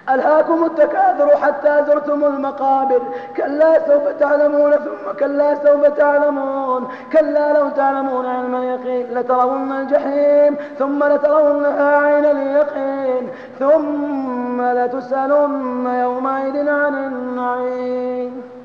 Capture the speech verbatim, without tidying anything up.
ألهاكم التكاثر حتى زرتم المقابر، كلا سوف تعلمون ثم كلا سوف تعلمون، كلا لو تعلمون علم اليقين لترون الجحيم ثم لترونها عين اليقين ثم لتسألن يومئذ عن النعيم.